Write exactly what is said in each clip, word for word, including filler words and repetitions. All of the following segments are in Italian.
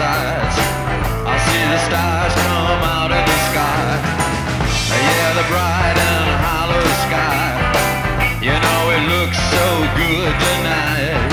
sides. I see the stars come out of the sky. Yeah, the bright and hollow sky. You know it looks so good tonight.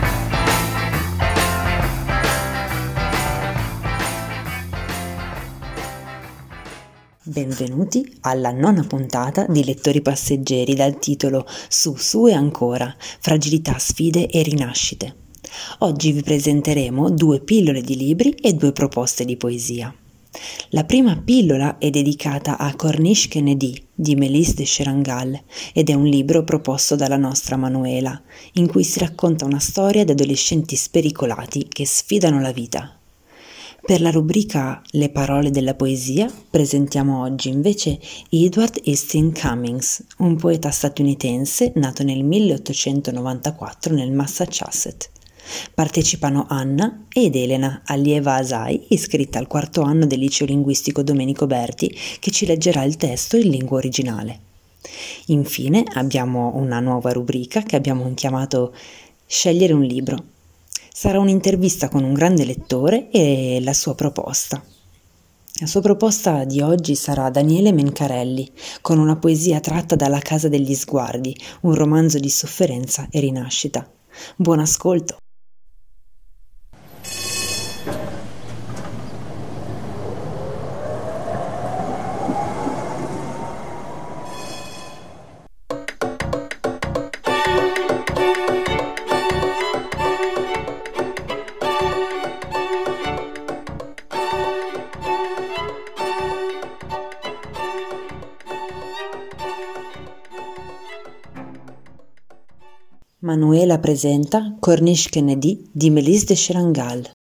Benvenuti alla nona puntata di Lettori Passeggeri dal titolo Su, su e ancora, fragilità, sfide e rinascite. Oggi vi presenteremo due pillole di libri e due proposte di poesia. La prima pillola è dedicata a Corniche Kennedy di Mélisse de Cherangal ed è un libro proposto dalla nostra Manuela, in cui si racconta una storia di adolescenti spericolati che sfidano la vita. Per la rubrica Le parole della poesia presentiamo oggi invece Edward Hastings Cummings, un poeta statunitense nato nel milleottocentonovantaquattro nel Massachusetts. Partecipano Anna ed Elena, allieva Asai, iscritta al quarto anno del liceo linguistico Domenico Berti, che ci leggerà il testo in lingua originale. Infine abbiamo una nuova rubrica che abbiamo chiamato Scegliere un libro. Sarà un'intervista con un grande lettore e la sua proposta. La sua proposta di oggi sarà Daniele Mencarelli, con una poesia tratta dalla Casa degli Sguardi, un romanzo di sofferenza e rinascita. Buon ascolto! Manuela presenta Corniche Kennedy di Mélisse de Cherangal.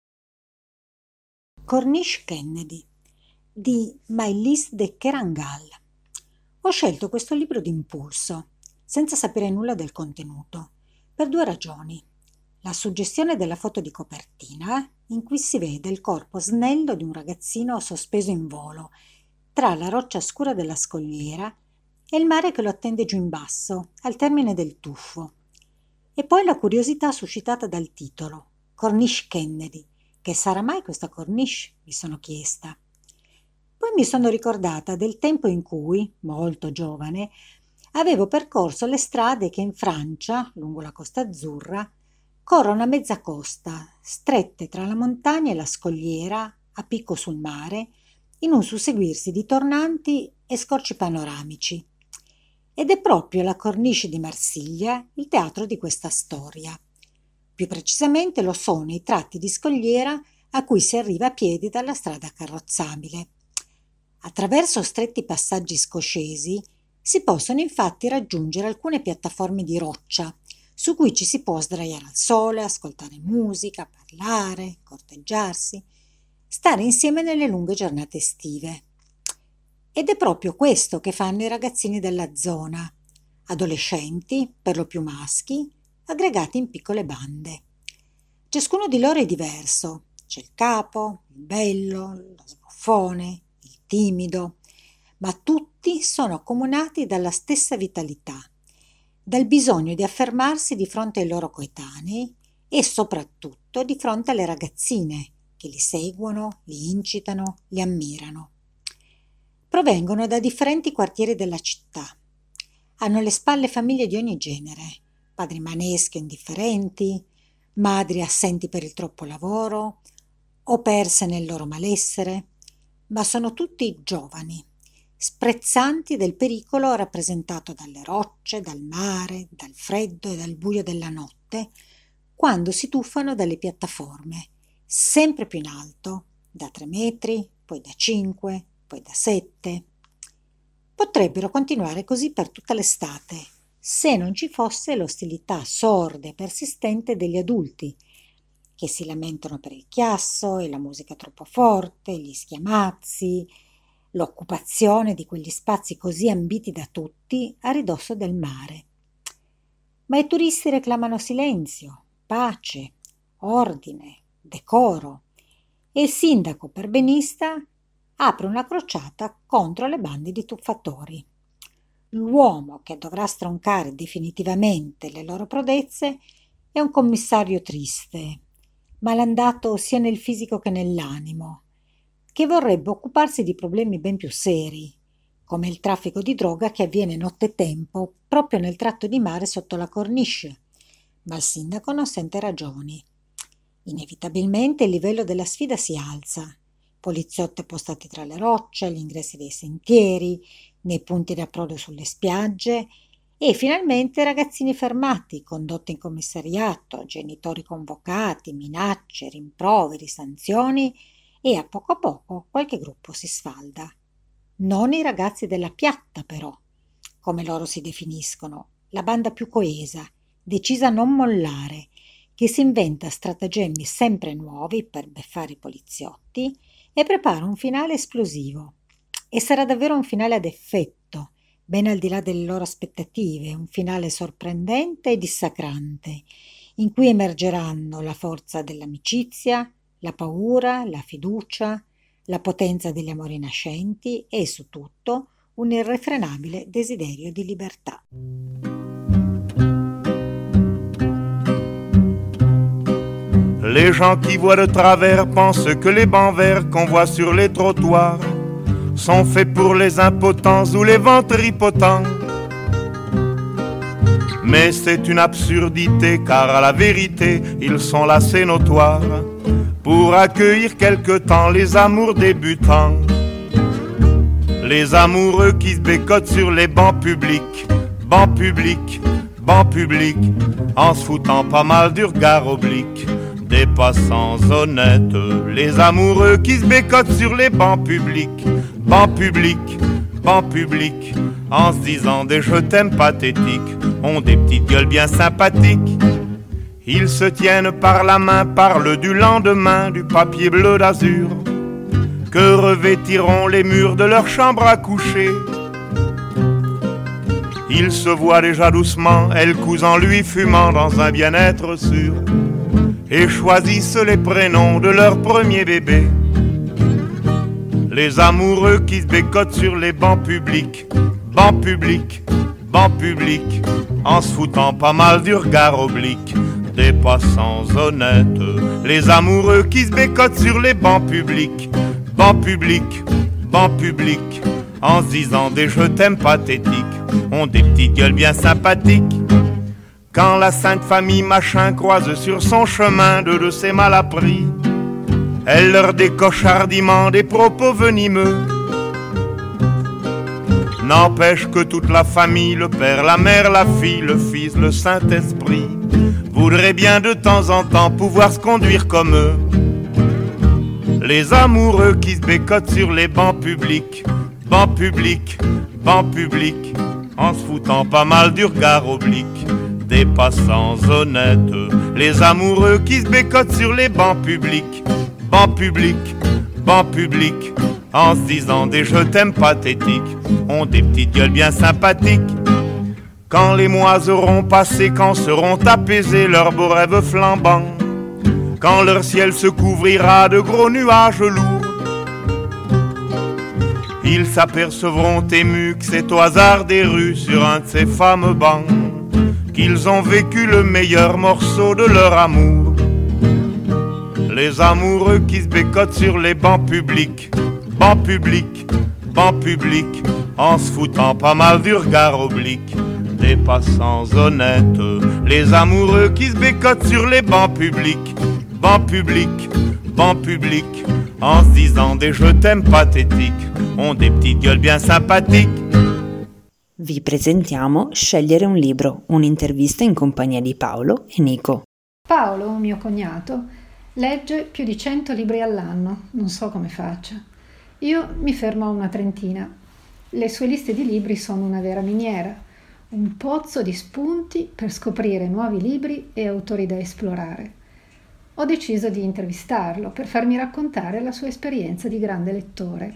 Corniche Kennedy di Mélisse de Cherangal. Ho scelto questo libro d'impulso, senza sapere nulla del contenuto, per due ragioni. La suggestione della foto di copertina, in cui si vede il corpo snello di un ragazzino sospeso in volo, tra la roccia scura della scogliera e il mare che lo attende giù in basso, al termine del tuffo. E poi la curiosità suscitata dal titolo, Corniche Kennedy. Che sarà mai questa Corniche? Mi sono chiesta. Poi mi sono ricordata del tempo in cui, molto giovane, avevo percorso le strade che in Francia, lungo la Costa Azzurra, corrono a mezza costa, strette tra la montagna e la scogliera, a picco sul mare, in un susseguirsi di tornanti e scorci panoramici. Ed è proprio la Corniche di Marsiglia il teatro di questa storia. Più precisamente lo sono i tratti di scogliera a cui si arriva a piedi dalla strada carrozzabile. Attraverso stretti passaggi scoscesi si possono infatti raggiungere alcune piattaforme di roccia su cui ci si può sdraiare al sole, ascoltare musica, parlare, corteggiarsi, stare insieme nelle lunghe giornate estive. Ed è proprio questo che fanno i ragazzini della zona, adolescenti, per lo più maschi, aggregati in piccole bande. Ciascuno di loro è diverso, c'è il capo, il bello, lo sbruffone, il timido, ma tutti sono accomunati dalla stessa vitalità, dal bisogno di affermarsi di fronte ai loro coetanei e soprattutto di fronte alle ragazzine che li seguono, li incitano, li ammirano. Provengono da differenti quartieri della città. Hanno alle spalle famiglie di ogni genere, padri maneschi o indifferenti, madri assenti per il troppo lavoro o perse nel loro malessere, ma sono tutti giovani, sprezzanti del pericolo rappresentato dalle rocce, dal mare, dal freddo e dal buio della notte, quando si tuffano dalle piattaforme, sempre più in alto, da tre metri, poi da cinque, poi da sette. Potrebbero continuare così per tutta l'estate, se non ci fosse l'ostilità sorda e persistente degli adulti, che si lamentano per il chiasso e la musica troppo forte, gli schiamazzi, l'occupazione di quegli spazi così ambiti da tutti a ridosso del mare. Ma i turisti reclamano silenzio, pace, ordine, decoro, e il sindaco perbenista apre una crociata contro le bande di tuffatori. L'uomo che dovrà stroncare definitivamente le loro prodezze è un commissario triste, malandato sia nel fisico che nell'animo, che vorrebbe occuparsi di problemi ben più seri, come il traffico di droga che avviene nottetempo proprio nel tratto di mare sotto la cornice. Ma il sindaco non sente ragioni. Inevitabilmente il livello della sfida si alza. Poliziotti postati tra le rocce, agli ingressi dei sentieri, nei punti di approdo sulle spiagge e finalmente ragazzini fermati, condotti in commissariato, genitori convocati, minacce, rimproveri, sanzioni e a poco a poco qualche gruppo si sfalda. Non i ragazzi della piatta però, come loro si definiscono, la banda più coesa, decisa a non mollare, che si inventa stratagemmi sempre nuovi per beffare i poliziotti e prepara un finale esplosivo. E sarà davvero un finale ad effetto, ben al di là delle loro aspettative, un finale sorprendente e dissacrante, in cui emergeranno la forza dell'amicizia, la paura, la fiducia, la potenza degli amori nascenti e, su tutto, un irrefrenabile desiderio di libertà. Les gens qui voient de travers pensent que les bancs verts qu'on voit sur les trottoirs sont faits pour les impotents ou les ventripotents. Mais c'est une absurdité, car à la vérité, ils sont là, c'est notoire, pour accueillir quelque temps les amours débutants. Les amoureux qui se bécotent sur les bancs publics, bancs publics, bancs publics, en se foutant pas mal du regard oblique des passants honnêtes. Les amoureux qui se bécotent sur les bancs publics, bancs publics, bancs publics, en se disant des je t'aime pathétiques, ont des petites gueules bien sympathiques. Ils se tiennent par la main, parlent du lendemain, du papier bleu d'azur que revêtiront les murs de leur chambre à coucher. Ils se voient déjà doucement, elle cousant lui fumant dans un bien-être sûr, et choisissent les prénoms de leur premier bébé. Les amoureux qui se bécotent sur les bancs publics, bancs publics, bancs publics, en se foutant pas mal du regard oblique des passants honnêtes. Les amoureux qui se bécotent sur les bancs publics, bancs publics, bancs publics, en se disant des je t'aime pathétiques, ont des petites gueules bien sympathiques. Quand la sainte famille machin croise sur son chemin deux de ses malappris, elle leur décoche hardiment des propos venimeux. N'empêche que toute la famille, le père, la mère, la fille, le fils, le Saint-Esprit, voudraient bien de temps en temps pouvoir se conduire comme eux. Les amoureux qui se bécotent sur les bancs publics, bancs publics, bancs publics, en se foutant pas mal du regard oblique des passants honnêtes. Les amoureux qui se bécotent sur les bancs publics, bancs publics, bancs publics, en se disant des je t'aime pathétiques, ont des petites gueules bien sympathiques. Quand les mois auront passé, quand seront apaisés leurs beaux rêves flambants, quand leur ciel se couvrira de gros nuages lourds, ils s'apercevront émus que c'est au hasard des rues, sur un de ces fameux bancs, qu'ils ont vécu le meilleur morceau de leur amour. Les amoureux qui se bécotent sur les bancs publics, bancs publics, bancs publics, en se foutant pas mal du regard oblique des passants honnêtes. Les amoureux qui se bécotent sur les bancs publics, bancs publics, bancs publics, en se disant des je t'aime pathétiques, ont des petites gueules bien sympathiques. Vi presentiamo Scegliere un libro, un'intervista in compagnia di Paolo e Nico. Paolo, mio cognato, legge più di cento libri all'anno, non so come faccia. Io mi fermo a una trentina. Le sue liste di libri sono una vera miniera, un pozzo di spunti per scoprire nuovi libri e autori da esplorare. Ho deciso di intervistarlo per farmi raccontare la sua esperienza di grande lettore.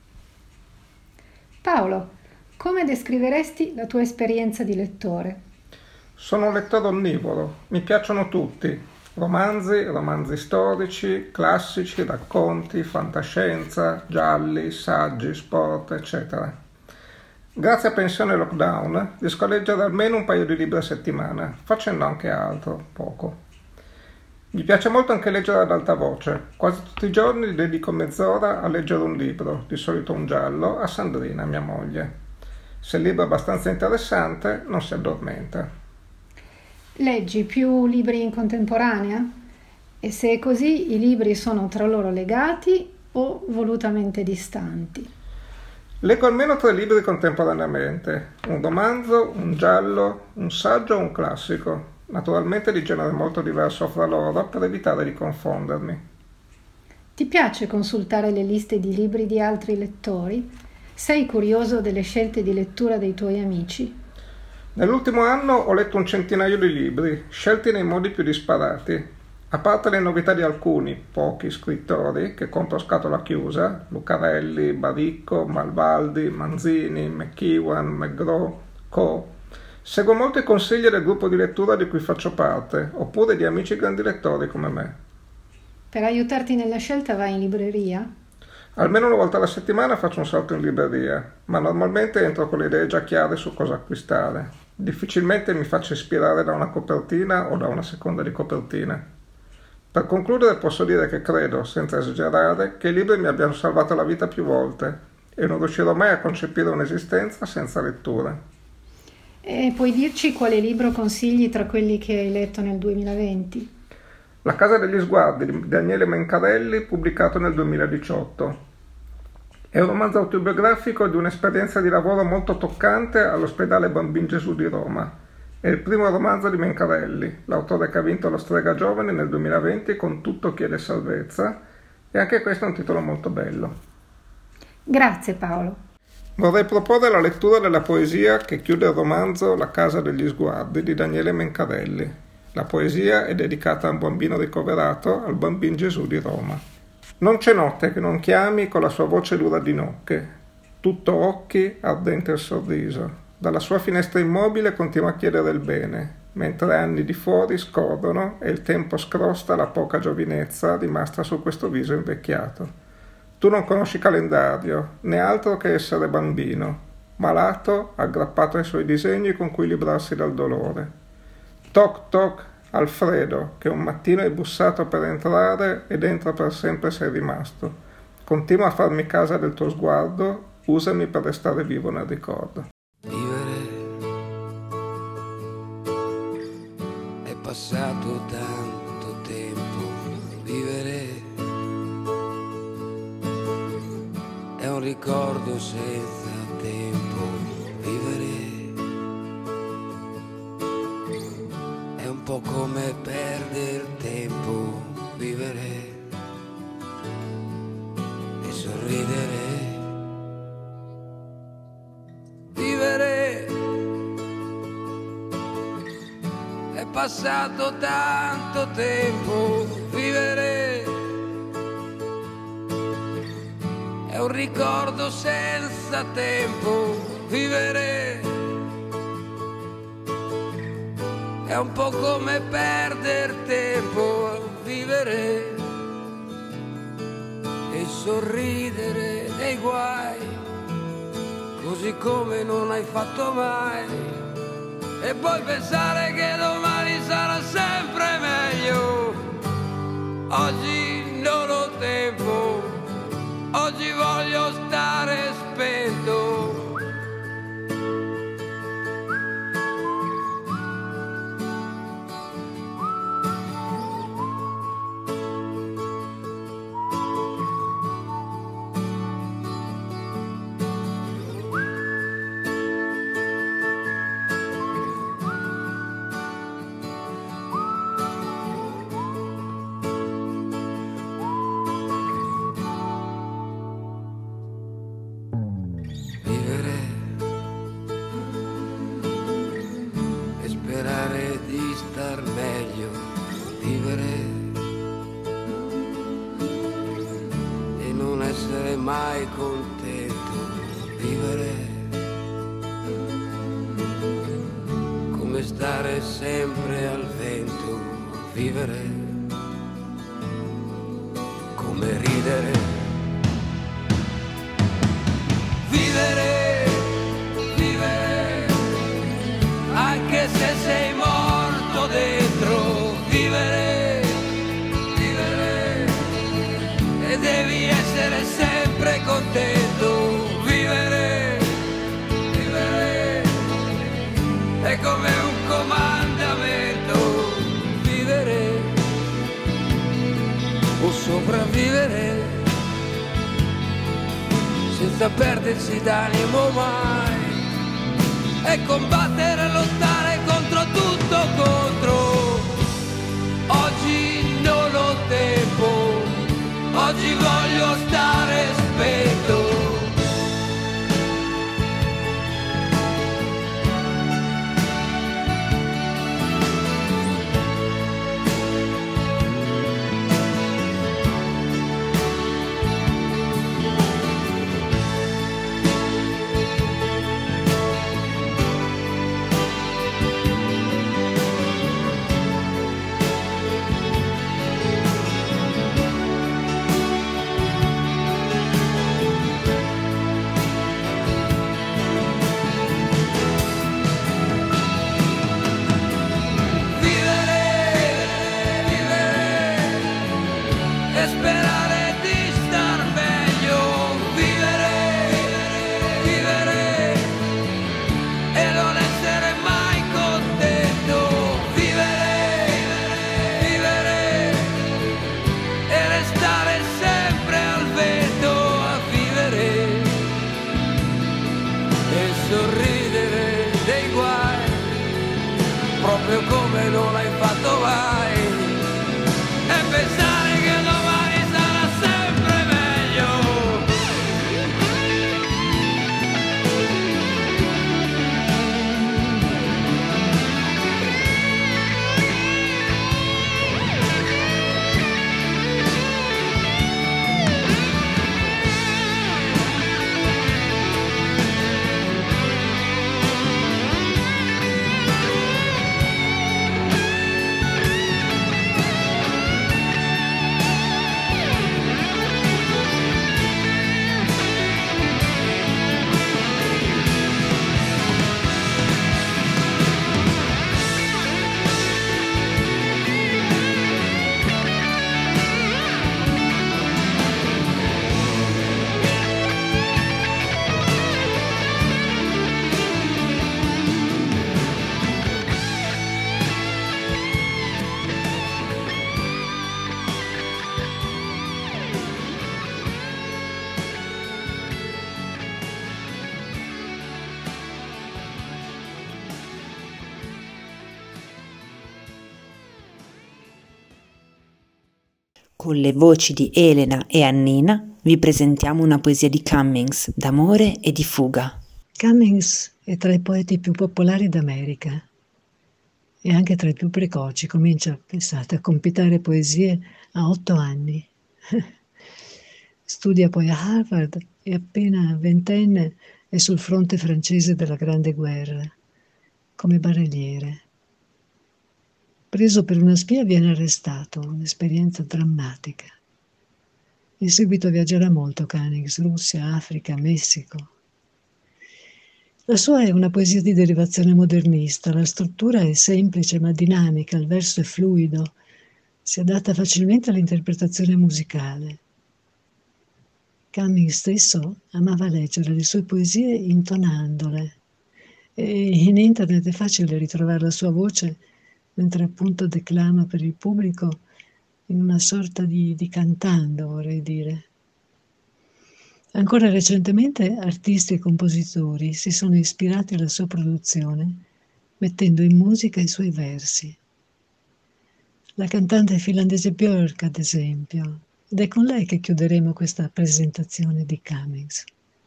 Paolo, come descriveresti la tua esperienza di lettore? Sono un lettore onnivoro, mi piacciono tutti, romanzi, romanzi storici, classici, racconti, fantascienza, gialli, saggi, sport, eccetera. Grazie a Pensione Lockdown riesco a leggere almeno un paio di libri a settimana, facendo anche altro, poco. Mi piace molto anche leggere ad alta voce. Quasi tutti i giorni dedico mezz'ora a leggere un libro, di solito un giallo, a Sandrina, mia moglie. Se il libro è abbastanza interessante, non si addormenta. Leggi più libri in contemporanea? E se è così, i libri sono tra loro legati o volutamente distanti? Leggo almeno tre libri contemporaneamente, un romanzo, un giallo, un saggio o un classico, naturalmente di genere molto diverso fra loro per evitare di confondermi. Ti piace consultare le liste di libri di altri lettori? Sei curioso delle scelte di lettura dei tuoi amici? Nell'ultimo anno ho letto un centinaio di libri, scelti nei modi più disparati. A parte le novità di alcuni, pochi scrittori, che compro a scatola chiusa, Lucarelli, Baricco, Malvaldi, Manzini, McEwan, McGraw, Co., seguo molto i consigli del gruppo di lettura di cui faccio parte, oppure di amici grandi lettori come me. Per aiutarti nella scelta vai in libreria? Almeno una volta alla settimana faccio un salto in libreria, ma normalmente entro con le idee già chiare su cosa acquistare. Difficilmente mi faccio ispirare da una copertina o da una seconda di copertina. Per concludere posso dire che credo, senza esagerare, che i libri mi abbiano salvato la vita più volte e non riuscirò mai a concepire un'esistenza senza letture. E puoi dirci quale libro consigli tra quelli che hai letto nel duemilaventi? La casa degli sguardi di Daniele Mencarelli, pubblicato nel duemiladiciotto. È un romanzo autobiografico di un'esperienza di lavoro molto toccante all'ospedale Bambin Gesù di Roma. È il primo romanzo di Mencarelli, l'autore che ha vinto la Strega Giovane nel duemilaventi con Tutto chiede salvezza, e anche questo è un titolo molto bello. Grazie Paolo. Vorrei proporre la lettura della poesia che chiude il romanzo La casa degli sguardi di Daniele Mencarelli. La poesia è dedicata a un bambino ricoverato al Bambin Gesù di Roma. Non c'è notte che non chiami con la sua voce dura di nocche, tutto occhi, ardente il sorriso. Dalla sua finestra immobile continua a chiedere il bene, mentre anni di fuori scorrono e il tempo scrosta la poca giovinezza rimasta su questo viso invecchiato. Tu non conosci calendario, né altro che essere bambino, malato, aggrappato ai suoi disegni con cui librarsi dal dolore. Toc toc, Alfredo, che un mattino hai bussato per entrare ed entra per sempre sei rimasto. Continua a farmi casa del tuo sguardo, usami per restare vivo nel ricordo. Passato tanto tempo, vivere è un ricordo senza tempo, vivere è un po' come perdere tempo, vivere e sorridere, vivere è passato tanto tempo, vivere è un ricordo senza tempo, vivere è un po' come perdere tempo, vivere e sorridere dei guai, così come non hai fatto mai. E poi pensare che domani sarà sempre meglio. Oggi non ho tempo, oggi voglio stare spento. Mai contento, vivere come stare sempre al vento, vivere come ridere, vivere, vivere anche se sei morto dentro, vivere essere sempre contento. Vivere, vivere è come un comandamento. Vivere o sopravvivere senza perdersi d'animo mai, e combattere, lottare contro tutto, contro. Oggi non ho tempo, oggi voglio stare spento. Come non hai fatto mai, e pensare che domani sarà sempre meglio. Con le voci di Elena e Annina vi presentiamo una poesia di Cummings d'amore e di fuga. Cummings è tra i poeti più popolari d'America e anche tra i più precoci. Comincia, pensate, a compilare poesie a otto anni. Studia poi a Harvard e appena ventenne è sul fronte francese della Grande Guerra, come barelliere. Preso per una spia viene arrestato, un'esperienza drammatica. In seguito viaggerà molto Cummings, Russia, Africa, Messico. La sua è una poesia di derivazione modernista, la struttura è semplice ma dinamica, il verso è fluido, si adatta facilmente all'interpretazione musicale. Cummings stesso amava leggere le sue poesie intonandole e in internet è facile ritrovare la sua voce mentre appunto declama per il pubblico in una sorta di, di cantando, vorrei dire. Ancora recentemente artisti e compositori si sono ispirati alla sua produzione mettendo in musica i suoi versi. La cantante finlandese Björk, ad esempio, ed è con lei che chiuderemo questa presentazione di Cummings.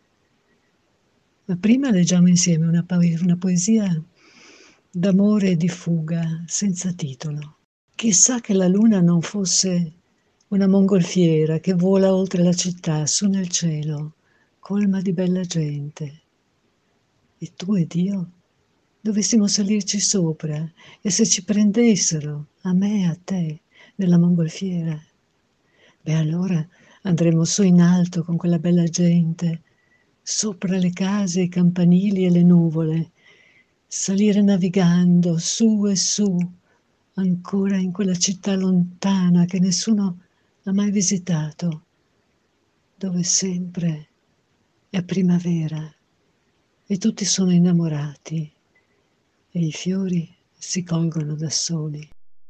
Ma prima leggiamo insieme una, po- una poesia d'amore e di fuga, senza titolo. Chissà che la luna non fosse una mongolfiera che vola oltre la città, su nel cielo, colma di bella gente. E tu ed io dovessimo salirci sopra, e se ci prendessero, a me e a te, nella mongolfiera, beh allora andremo su in alto con quella bella gente, sopra le case, i campanili e le nuvole, salire navigando su e su, ancora in quella città lontana che nessuno ha mai visitato, dove sempre è primavera e tutti sono innamorati e i fiori si colgono da soli.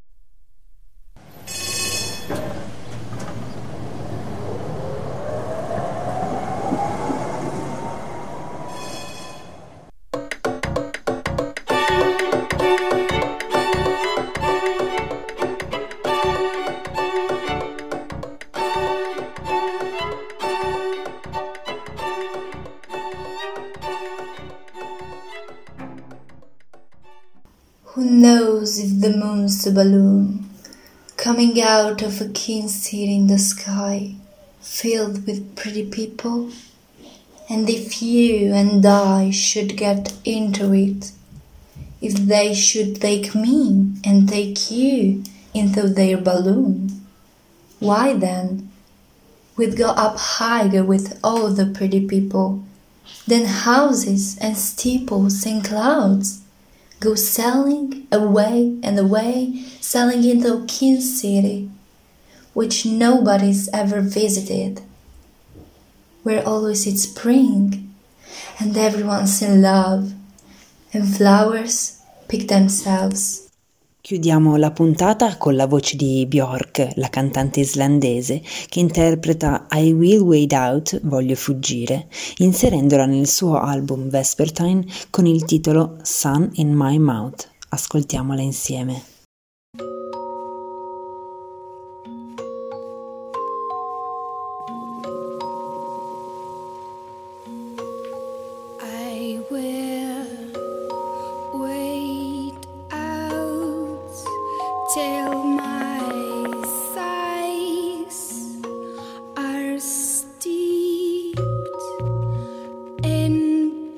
Who knows if the moon's a balloon coming out of a keen city in the sky, filled with pretty people? And if you and I should get into it, if they should take me and take you into their balloon, why then we'd go up higher with all the pretty people, then houses and steeples and clouds go sailing away and away, sailing into a keen city, which nobody's ever visited, where always it's spring, and everyone's in love, and flowers pick themselves. Chiudiamo la puntata con la voce di Björk, la cantante islandese, che interpreta I Will Wade Out, Voglio fuggire, inserendola nel suo album Vespertine con il titolo Sun in My Mouth. Ascoltiamola insieme. I will wait out till my thighs are steeped in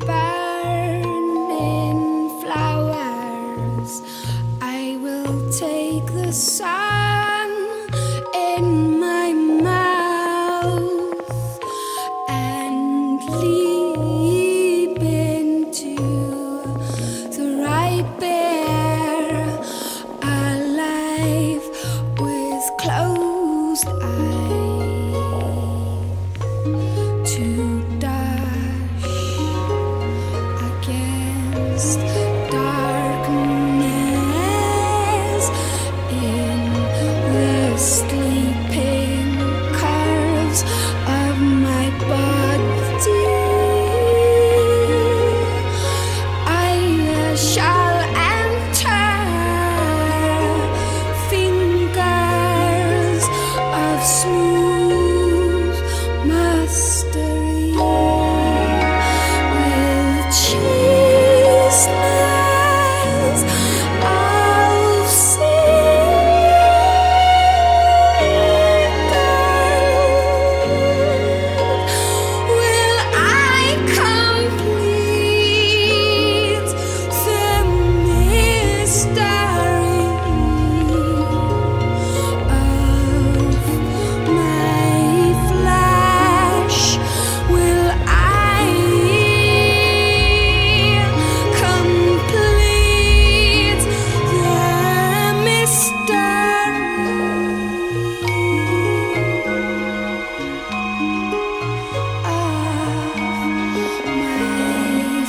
burning flowers. I will take the sun in my mouth and leap into the ripe air, alive with closed eyes, to dash against darkness in the sleeping curves of my body. I shall enter fingers of smooth mastery with chasteness of cedar. Will I complete the mystery of my flesh? Will I complete the mystery of my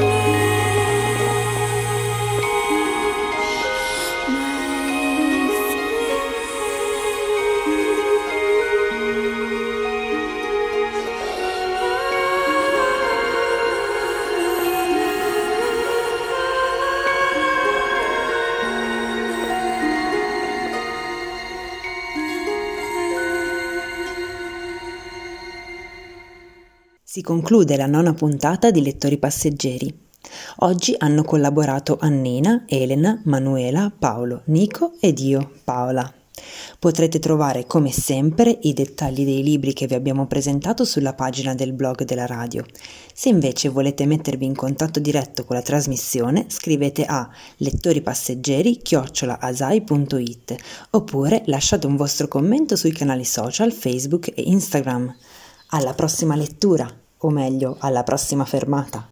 Si conclude la nona puntata di Lettori Passeggeri. Oggi hanno collaborato Annina, Elena, Manuela, Paolo, Nico ed io, Paola. Potrete trovare come sempre i dettagli dei libri che vi abbiamo presentato sulla pagina del blog della radio. Se invece volete mettervi in contatto diretto con la trasmissione, scrivete a lettoripasseggeri chiocciola asai punto it oppure lasciate un vostro commento sui canali social Facebook e Instagram. Alla prossima lettura, o meglio, alla prossima fermata.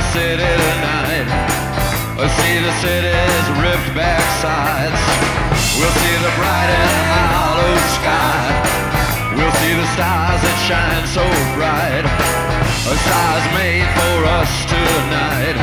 city tonight. We'll see the city's ripped back sides. We'll see the bright and hollow sky. We'll see the stars that shine so bright. A stars made for us tonight.